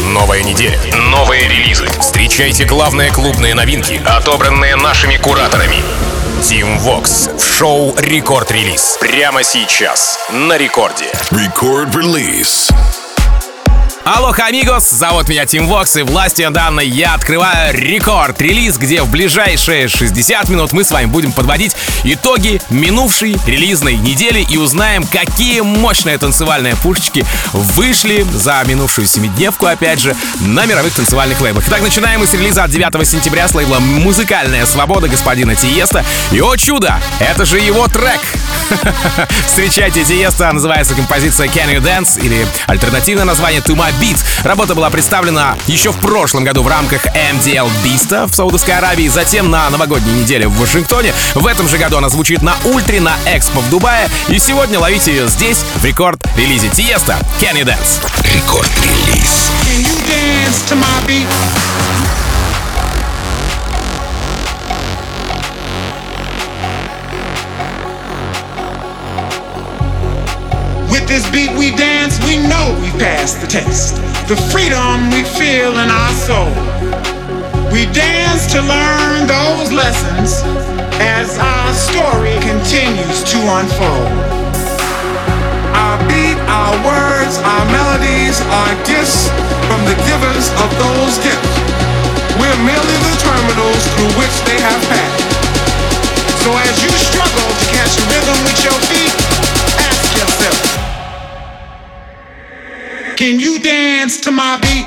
Новая неделя, новые релизы. Встречайте главные клубные новинки, отобранные нашими кураторами. Team Vox в шоу «Рекорд Релиз». Прямо сейчас на рекорде. Record Release. Алоха, амигос! Зовут меня Team Vox, и властью данной я открываю рекорд-релиз, где в ближайшие 60 минут мы с вами будем подводить итоги минувшей релизной недели и узнаем, какие мощные танцевальные пушечки вышли за минувшую семидневку, опять же, на мировых танцевальных лейблах. Итак, начинаем мы с релиза от 9 сентября с лейбла «Музыкальная свобода» господина Тиеста. И, о чудо, это же его трек! Встречайте Тиеста, называется композиция «Can You Dance» или альтернативное название «To My Beat». Работа была представлена еще в прошлом году в рамках MDL Beast в Саудовской Аравии, затем на новогодней неделе в Вашингтоне. В этом же году она звучит на Ультре, на Экспо в Дубае. И сегодня ловите ее здесь, в рекорд-релизе Тиеста «Can You Dance». Рекорд-релиз. Can you dance to my beat? With this beat we dance, we know we passed the test. The freedom we feel in our soul. We dance to learn those lessons as our story continues to unfold. Our beat, our words, our melodies are gifts from the givers of those gifts. We're merely the terminals through which they have passed. So as you struggle to catch a rhythm with your feet, ask yourself, can you dance to my beat?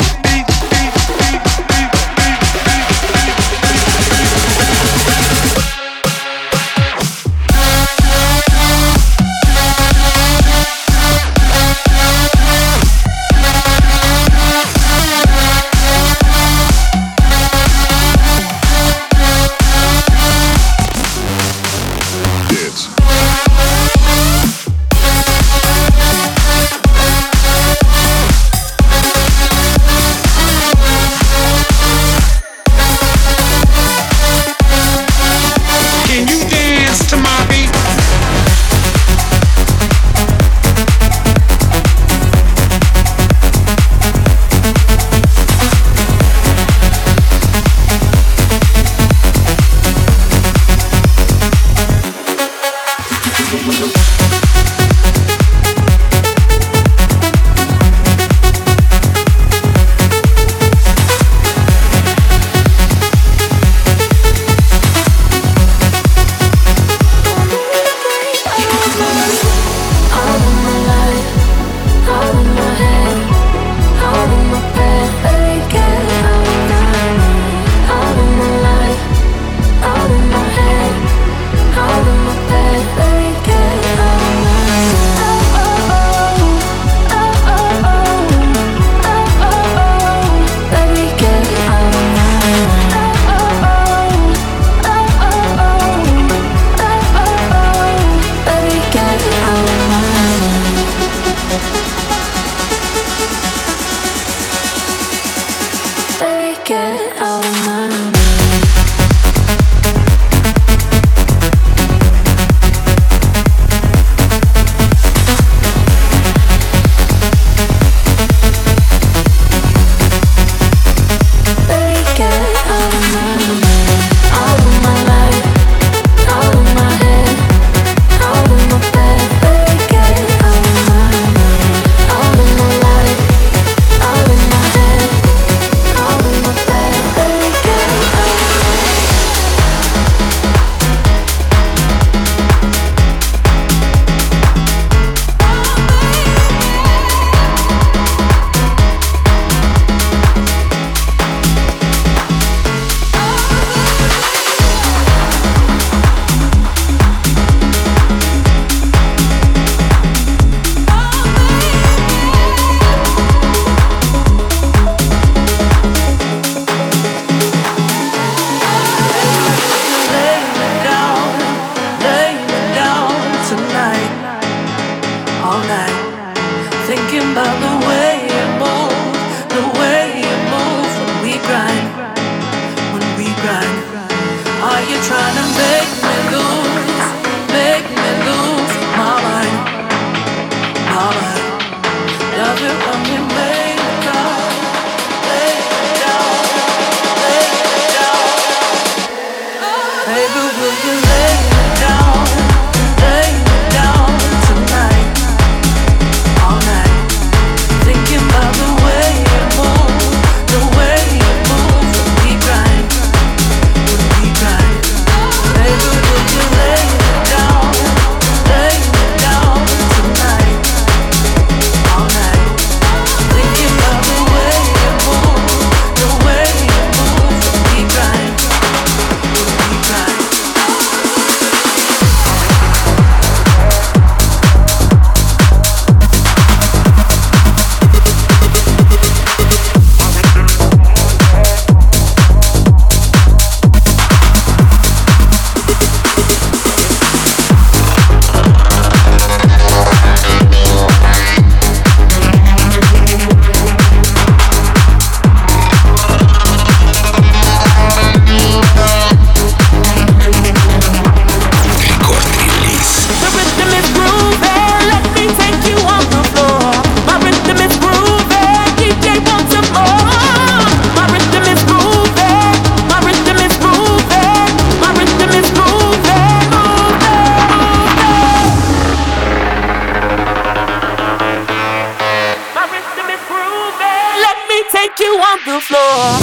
take you on the floor.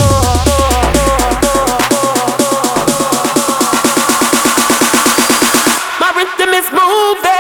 My rhythm is moving.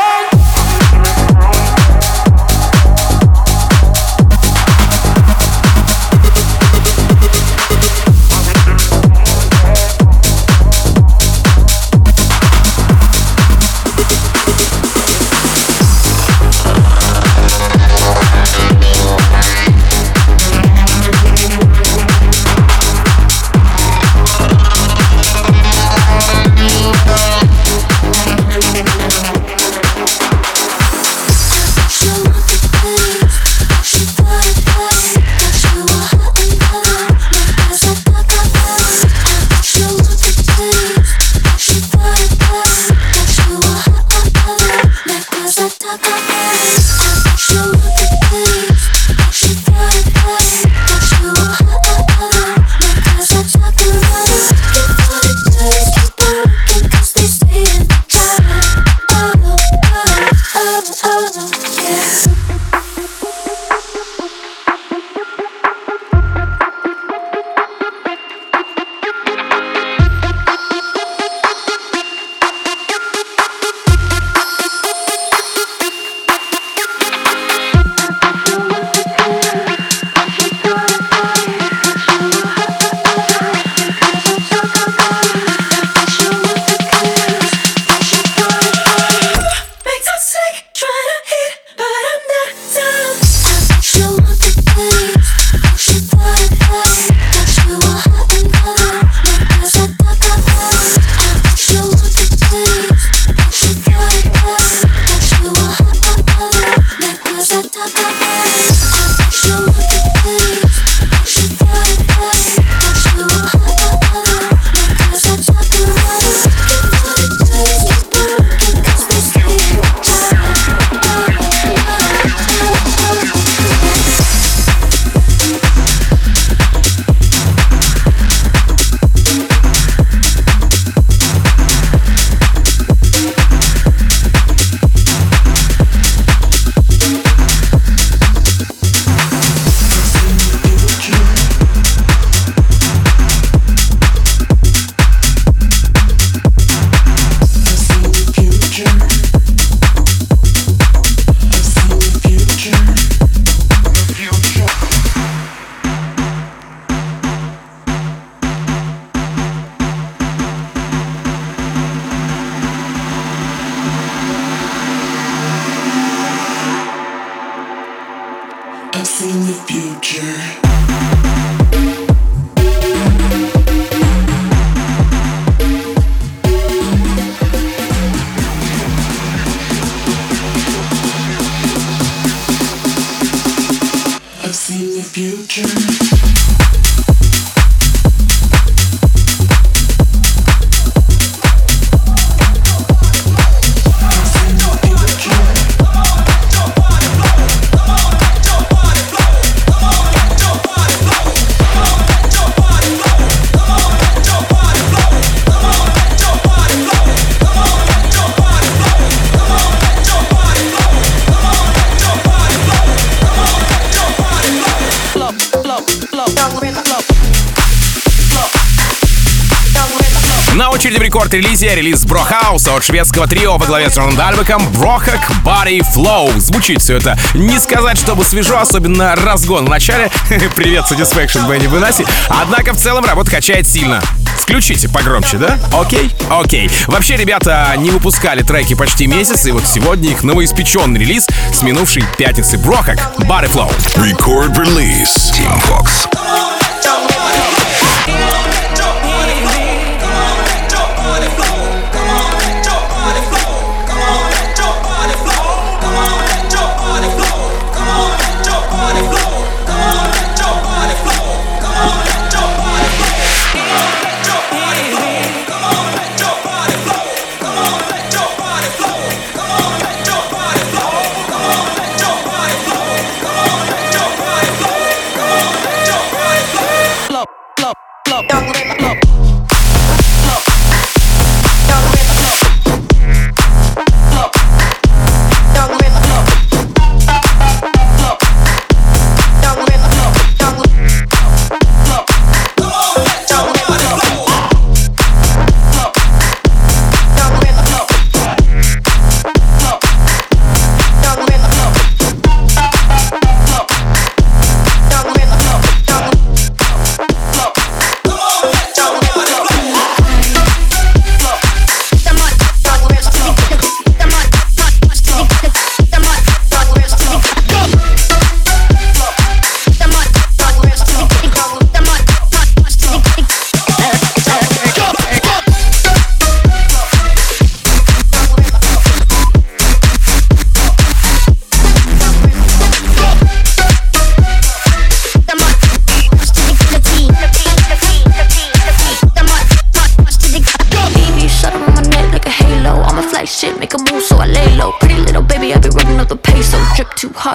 На очереди в рекорд-релизе релиз Брохауса от шведского трио во главе с Джоном Дальбеком Brohak Body Flow. Звучит все это не сказать, чтобы свежо, особенно разгон в начале. Привет, Satisfaction, Бенни Бенаси. Однако в целом работа качает сильно. Включите погромче, да? Окей? Окей. Вообще, ребята не выпускали треки почти месяц, и вот сегодня их новоиспеченный релиз с минувшей пятницы Brohak Body Flow. Record release. Team Vox.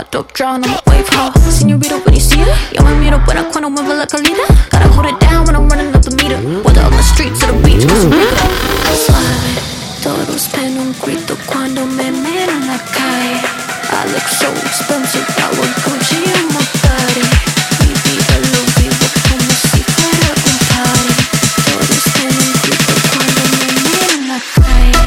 top drown on a wave, how señorita when you see her. Yo me miro buena cuando mueve la calidad. Gotta hold it down when I'm running up the meter. Whether on the streets or the beach, cause we go slide. Todos pen un grito cuando me miran en la calle. I look so expensive, I would Gucci in my body. Mi vida lo vivo como si fuera un party. Todos pen un grito cuando me miran en la calle.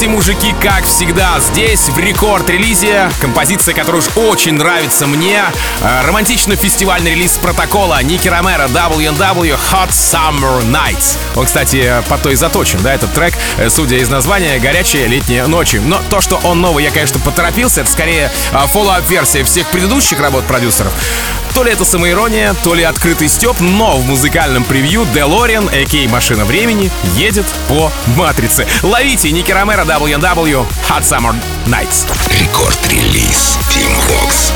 эти мужики, как всегда, здесь в рекорд-релизе. Композиция, которая уж очень нравится мне. Романтично-фестивальный релиз Протокола Ники Ромеро W&W Hot Summer Nights. Он, кстати, под то и заточен, да, этот трек, судя из названия, горячие летние ночи. Но то, что он новый, я, конечно, поторопился. Это скорее фоллоуап-версия всех предыдущих работ продюсеров. То ли это самоирония, то ли открытый стёб, но в музыкальном превью DeLorean, а.к.а. Машина времени, едет по матрице. Ловите Ники Ромеро W&W Hot Summer Nights. Рекорд-релиз Team Vox.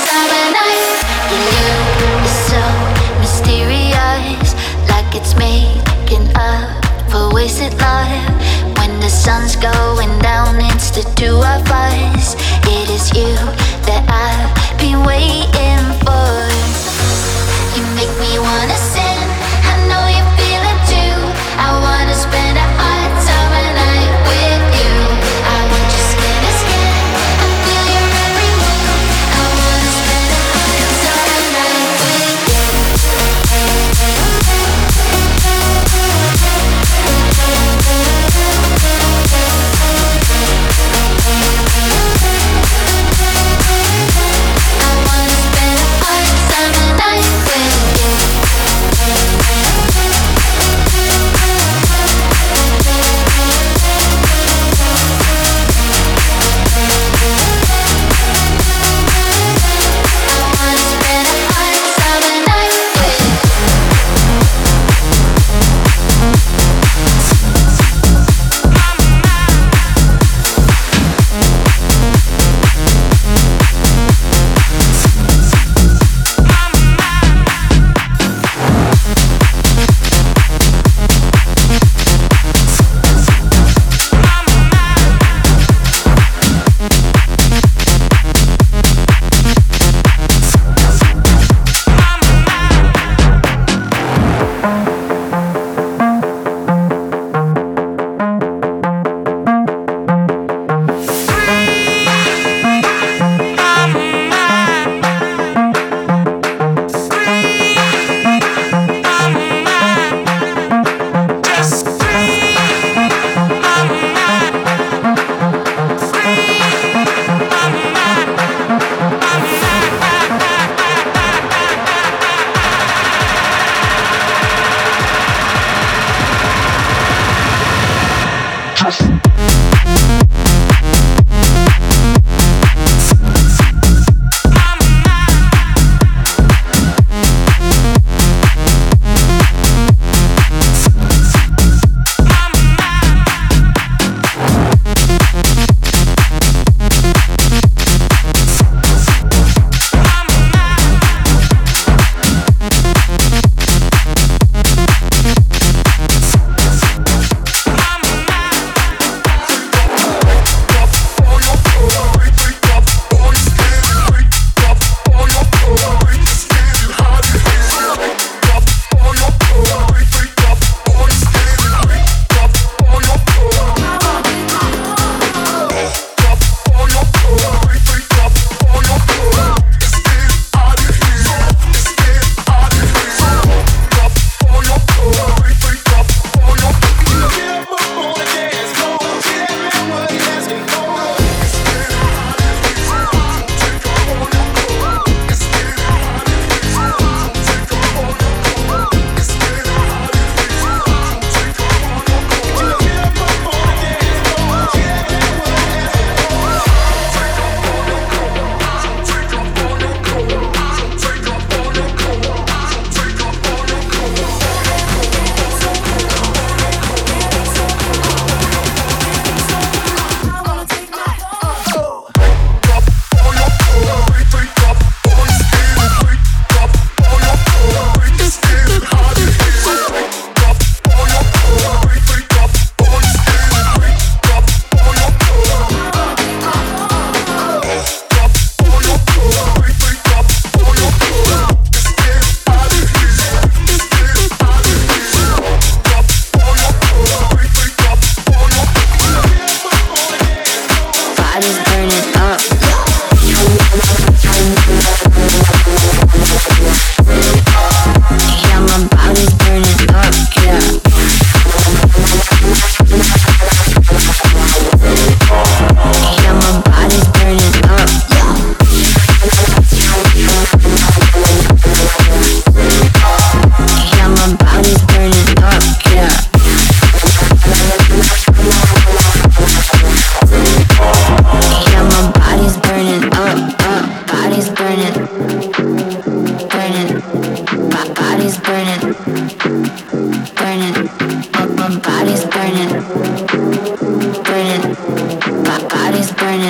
Sun's going down, it's the two of us. It is you that I've been waiting for. You make me wanna sin, I know you feel it too. I wanna spend a hot summer night with you. I want your skin to skin, I feel your every move. I wanna spend a hot summer night with you.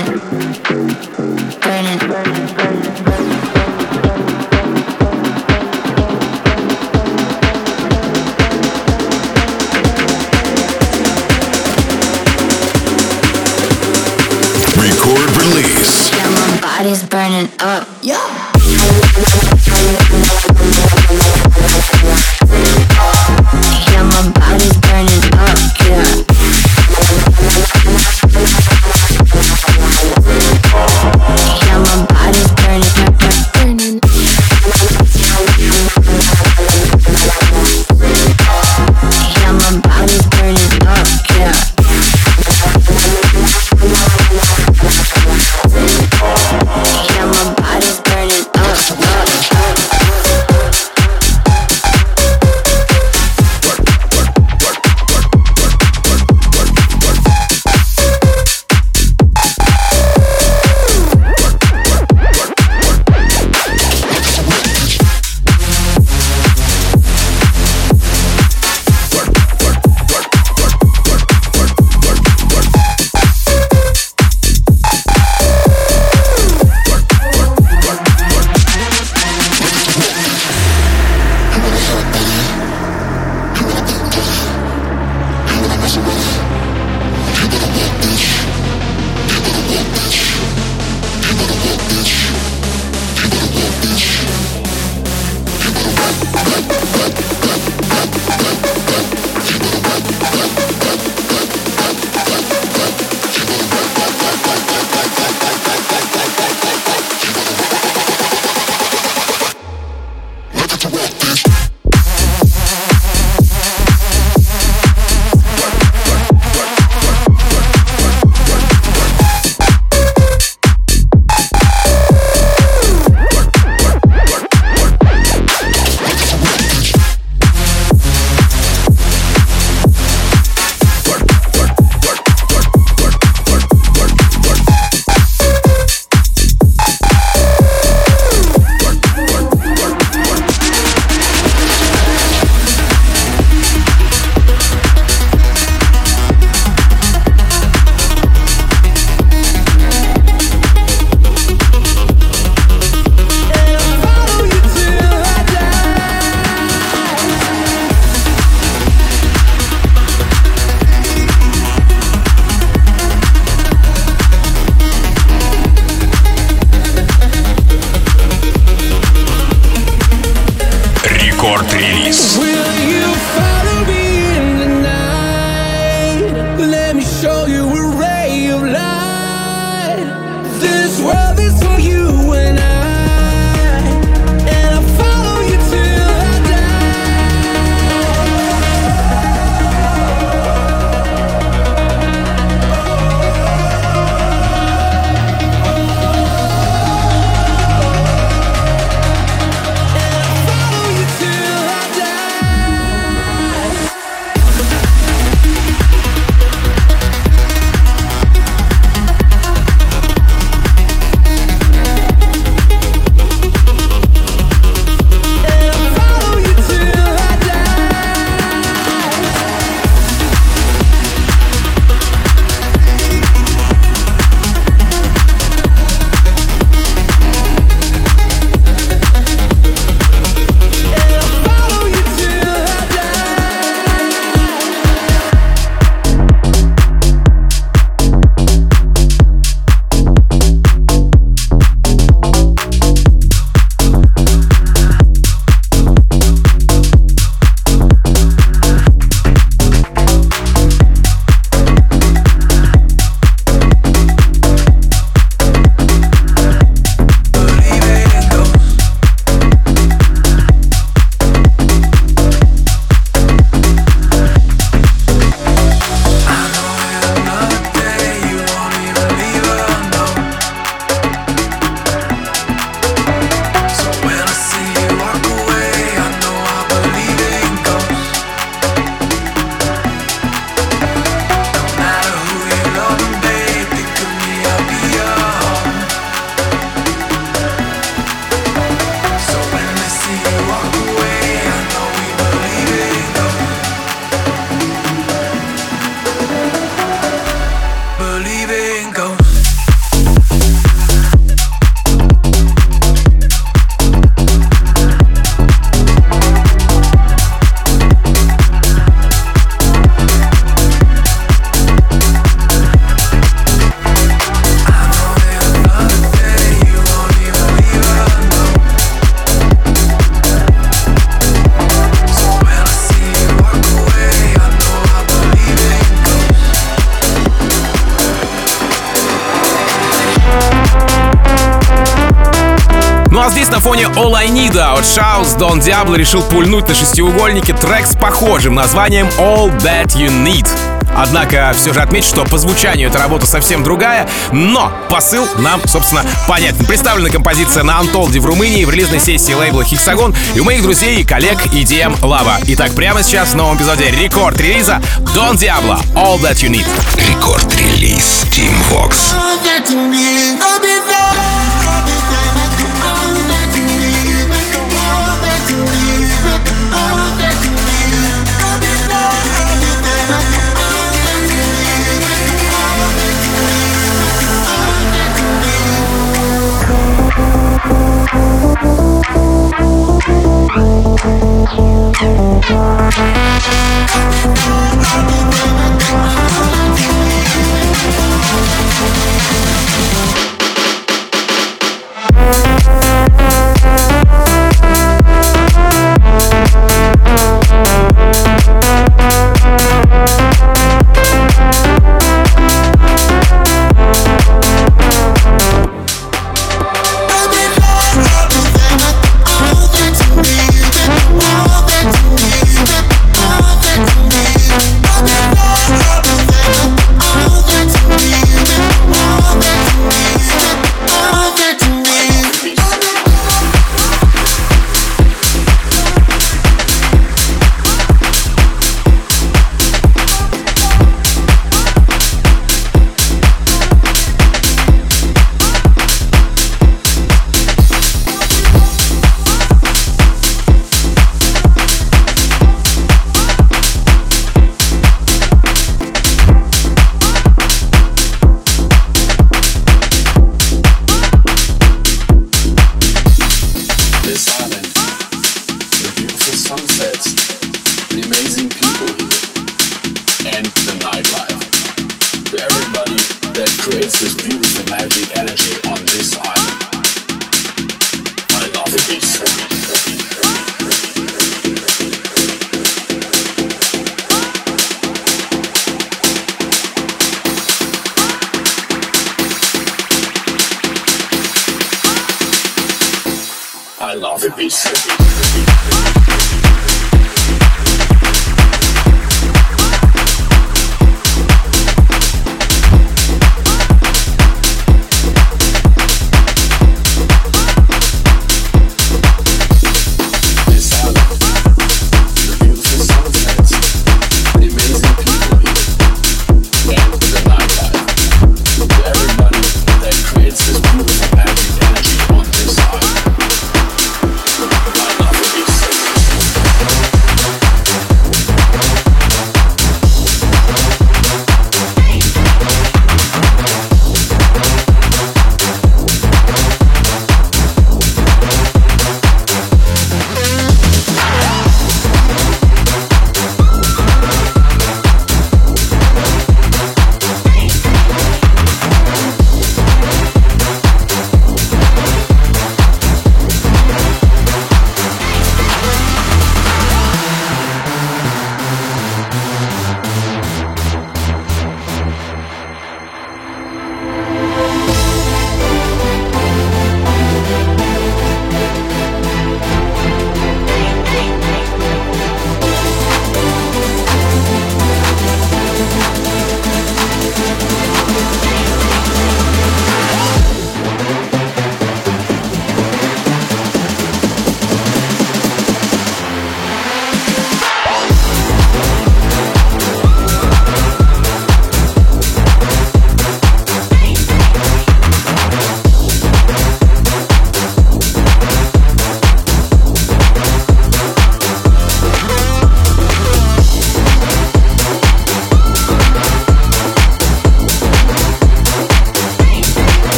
Body's burning up. Yeah. Yeah, my body's burning up. Yeah. Yeah, my body's burning up. Burning. Yeah, my body's burning up. Yeah. Yeah, my body's burning Ну а здесь на фоне All I Need от Shouse Don Diablo решил пульнуть на шестиугольнике трек с похожим названием All That You Need. Однако все же отмечу, что по звучанию эта работа совсем другая, но посыл нам, собственно, понятен. Представлена композиция на Untold в Румынии в релизной сессии лейбла Hexagon и у моих друзей и коллег EDM Lava. Итак, прямо сейчас в новом эпизоде рекорд-релиза Don Diablo All That You Need. Рекорд-релиз Team Vox. I love the beat.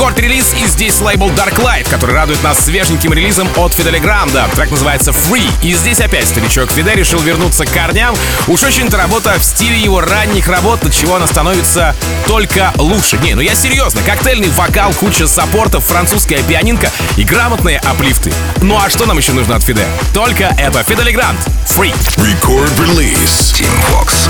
рекорд-релиз, и здесь лейбл Darklight, который радует нас свеженьким релизом от Фиделя Гранда. Трек называется Free. И здесь опять старичок Фиде решил вернуться к корням. Уж очень-то работа в стиле его ранних работ, от чего она становится только лучше. Не, ну я серьезно. Коктейльный вокал, куча саппортов, французская пианинка и грамотные аплифты. Ну а что нам еще нужно от Фиде? Только это Фидель Гранд. Free. Record release. Team Vox.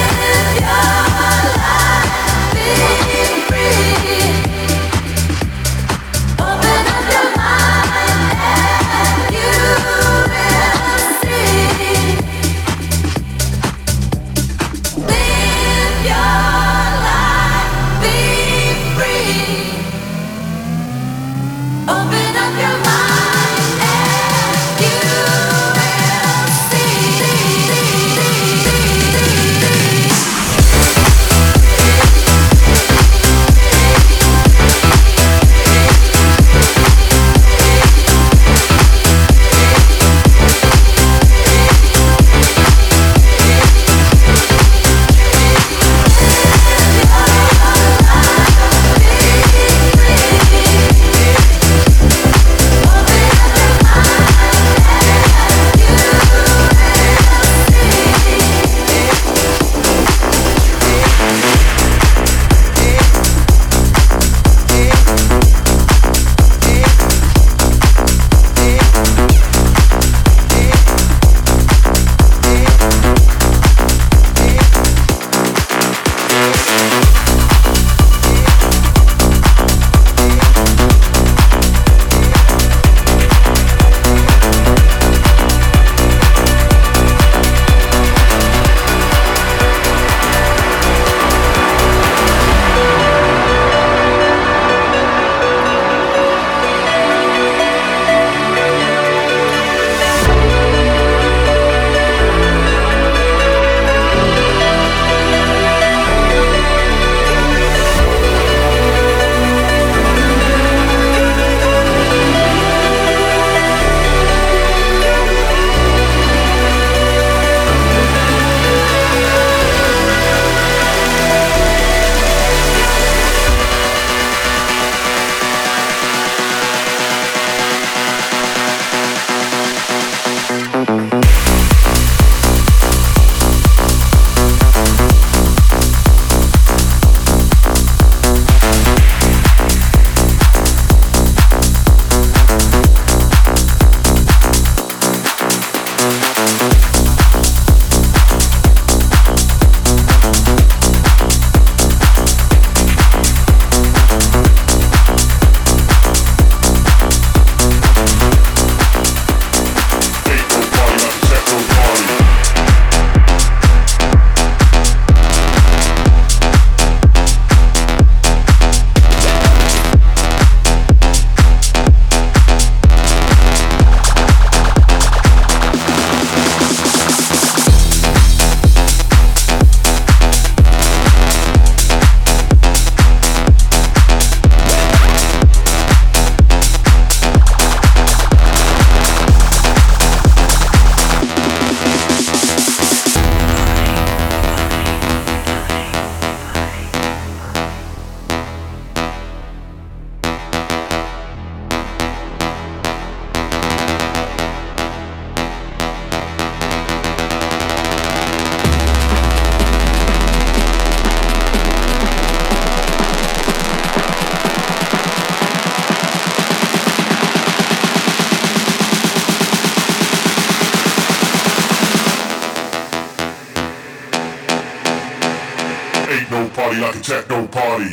party like a techno party.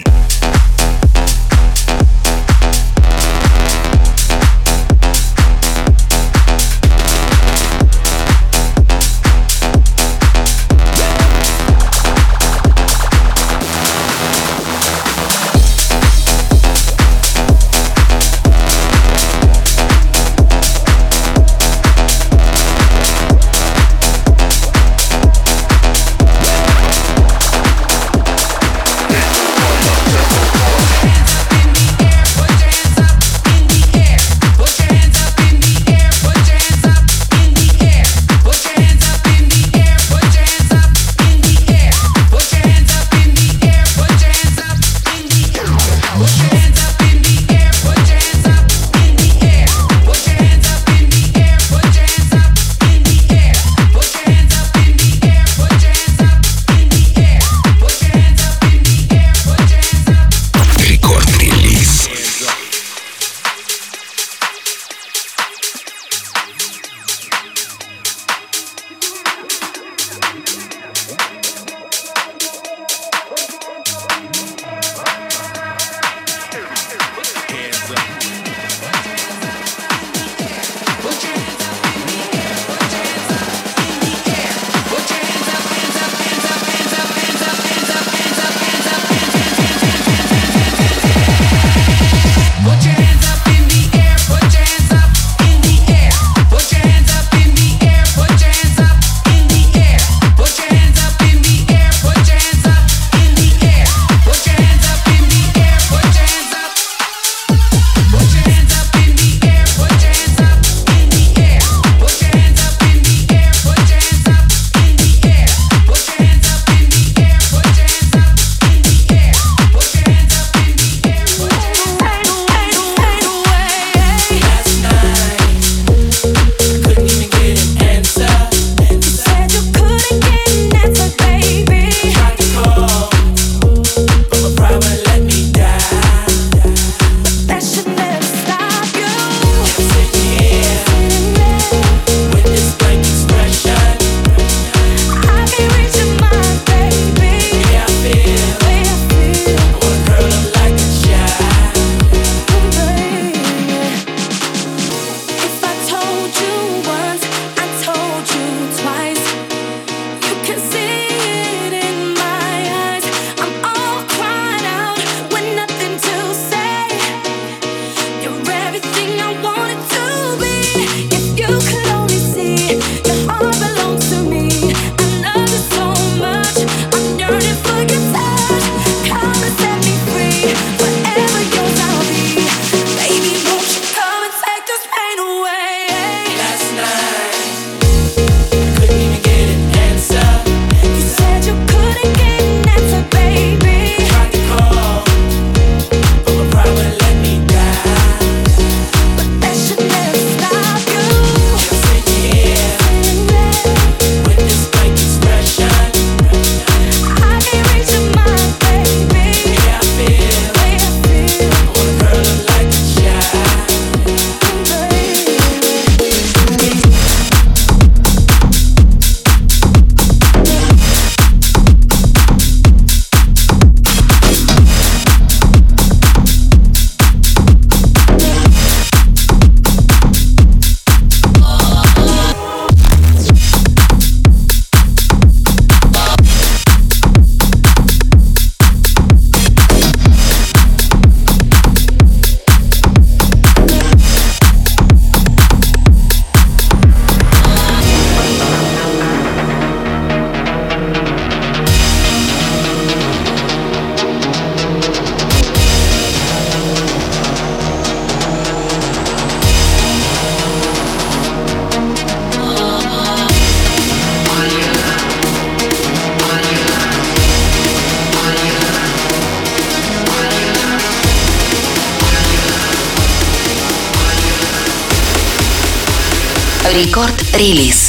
Рекорд-релиз.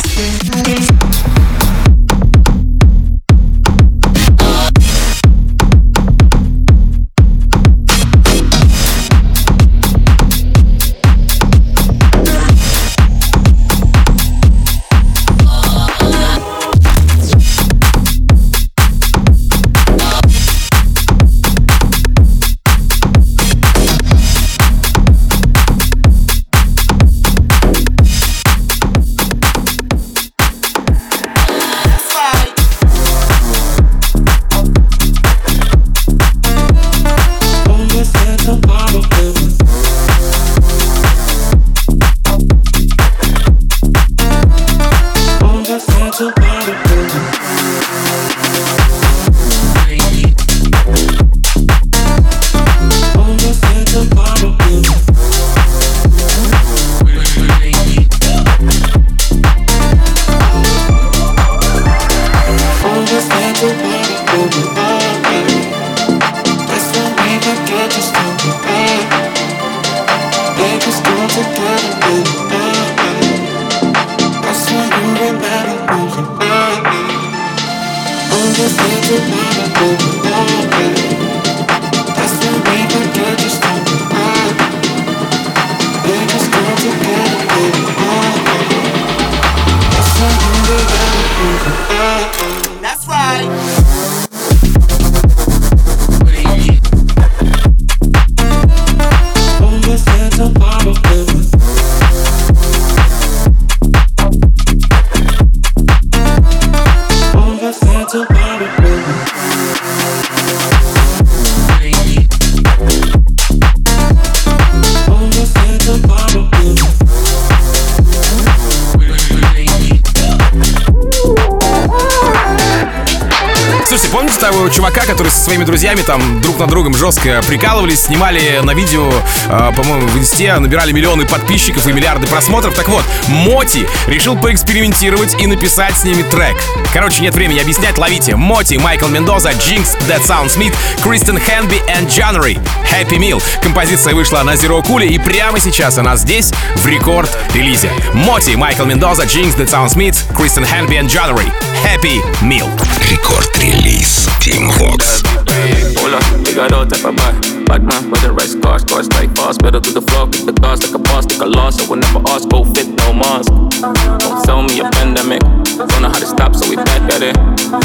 Помните того чувака, который со своими друзьями там друг над другом жестко прикалывались, снимали на видео, по-моему, в инсте, набирали миллионы подписчиков и миллиарды просмотров? Так вот, Моти решил поэкспериментировать и написать с ними трек. Короче, нет времени объяснять, ловите. Моти, Майкл Мендоза, Jinx, That Sounds Meat, Кристен Хэнби и January, Happy Meal. Композиция вышла на Zero Cool, и прямо сейчас она здесь, в рекорд-релизе. Моти, Майкл Мендоза, Jinx, That Sounds Meat, Кристен Хэнби и January, Happy Meal. Рекорд-релиз Team Vox. Hola, we got all type of bad man with the right scars, scars strike fast. Better to the floor, kick the cars like a boss, take a loss. I will never ask, go fit, no mask. Don't tell me a pandemic. Don't know how to stop, so we back at it.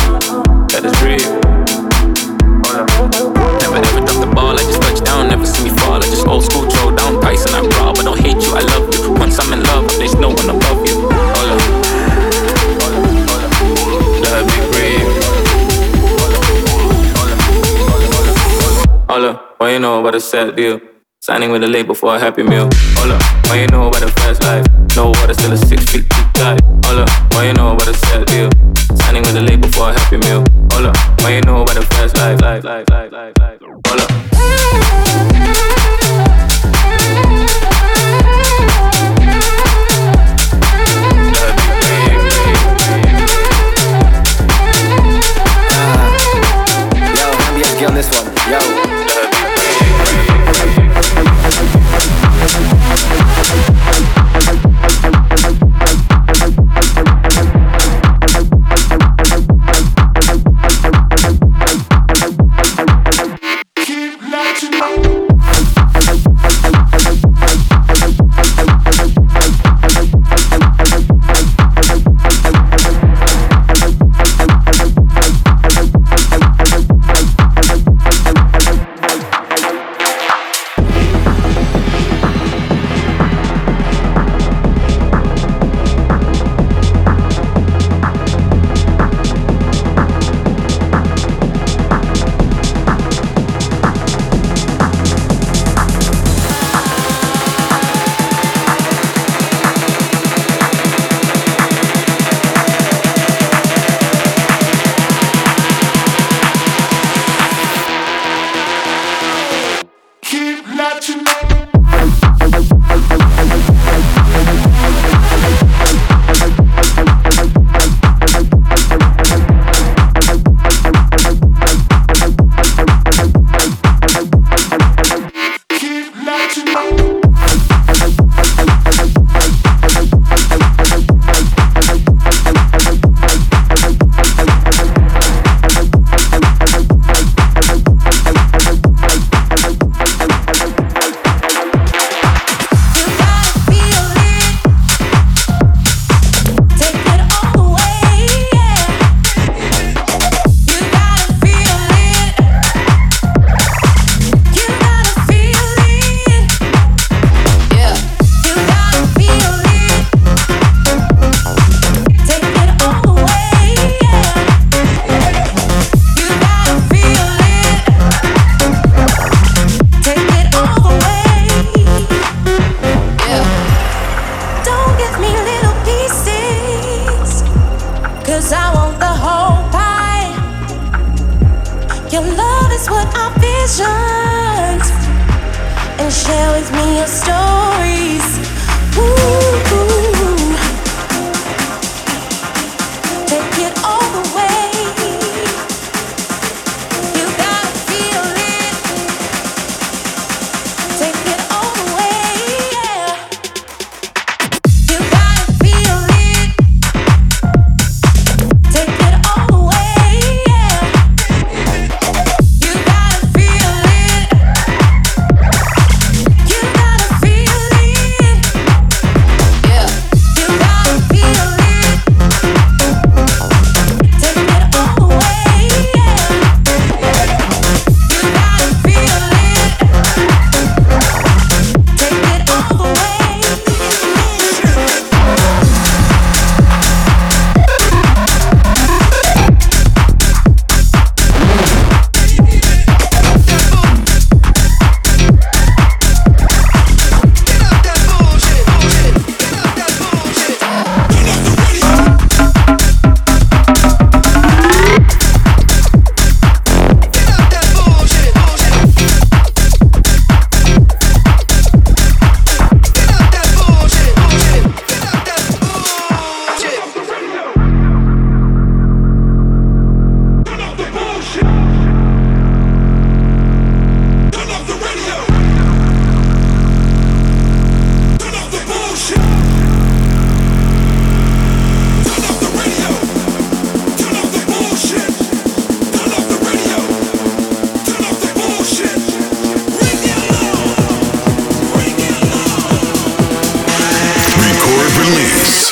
Let us breathe. Never ever drop the ball, I just touch down. Never see me fall, I just old school throw down. Tyson, I'm raw, but don't hate you, I love you. Once I'm in love, there's no one above you. Hola, let me breathe. Hola, what you know about a sad deal? Signing with a label for a happy meal. Hola, what you know about a fast life? No water, still a 6 feet deep dive. Hola, what you know about a sad deal? Signing with a label for a happy meal. Hola, what you know about a fast life? Hola. On this one, yo. Keep letting Your love is what I visioned, and share with me your stories. Ooh, take it all the way. You gotta feel it. Take it all the way, yeah. You gotta feel it. Take it all the way, yeah. You gotta feel it. You gotta feel it. Yeah. You gotta feel it. Take it all the way, yeah. You gotta feel it. Take it all the way. Record release.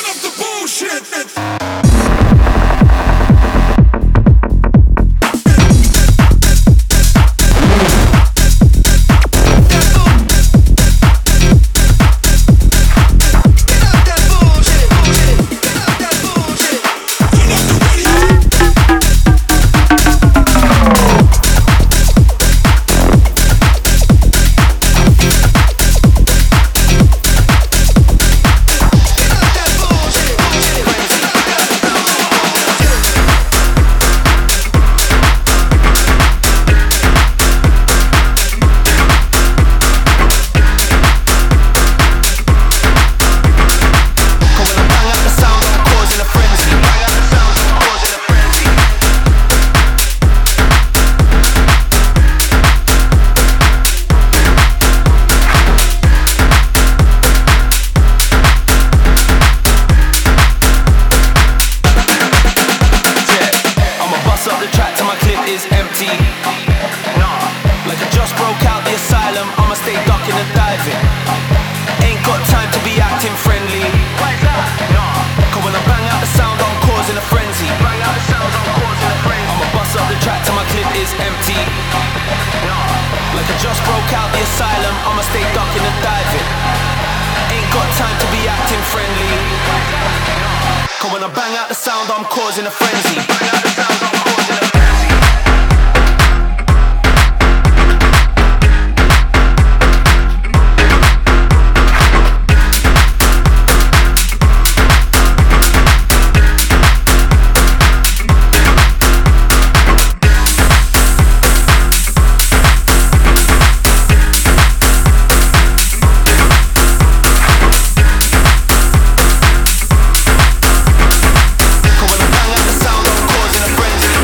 When I bang out the sound, I'm causing a frenzy. When I bang out the sound, I'm causing a frenzy.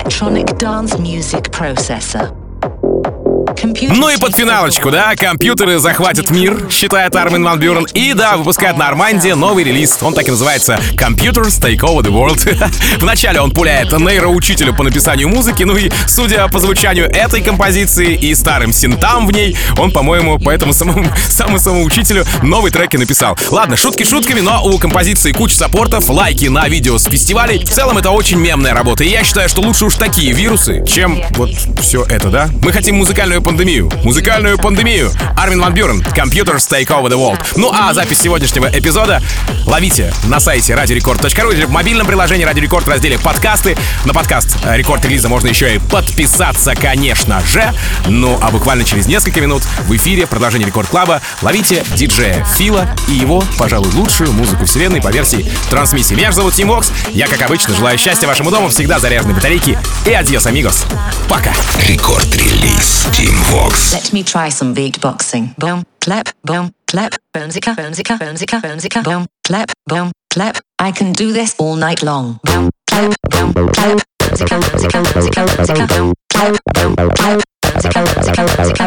electronic dance music processor. Ну и под финалочку, да, компьютеры захватят мир, считает Армин ван Бюрен. И да, выпускает Нормандия новый релиз. Он так и называется Computers Take Over the World. Вначале он пуляет нейроучителю по написанию музыки. Ну и, судя по звучанию этой композиции и старым синтам в ней, он, по-моему, по этому самому учителю новый трек и написал. Ладно, шутки шутками, но у композиции куча саппортов, лайки на видео с фестивалей. В целом это очень мемная работа. И я считаю, что лучше уж такие вирусы, чем вот все это, да? Мы хотим музыкальную пандемию. Музыкальную пандемию. Армин ван Бюрен, Computers Take Over the World. Ну а запись сегодняшнего эпизода ловите на сайте radiorecord.ru или в мобильном приложении Radio Record в разделе «Подкасты». На подкаст Рекорд Релиза можно еще и подписаться, конечно же. Ну а буквально через несколько минут в эфире продолжение Рекорд Клаба ловите диджея Фила и его, пожалуй, лучшую музыку вселенной по версии трансмиссии. Меня же зовут Тим Вокс. Я, как обычно, желаю счастья вашему дому, всегда заряженной батарейки. И адьос, амигос. Пока. Рекорд-релиз Тим Вокс. Let me try some beatboxing. Boom, clap, boomzika, boomzika, boomzika, boomzika, boom, clap, I can do this all night long. Boom, clap, boomzika, boomzika, boomzika, boomzika, boom, clap, boomzika, boomzika, boomzika,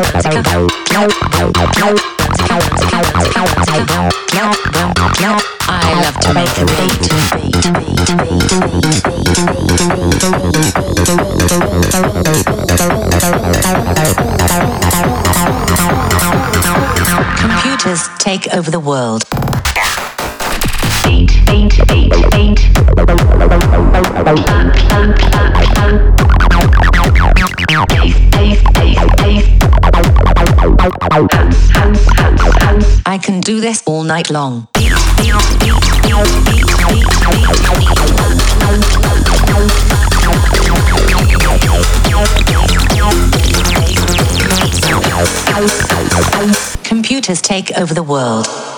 boom, I love to make a beat. Computers take over the world. I can do this all night long. Computers take over the world.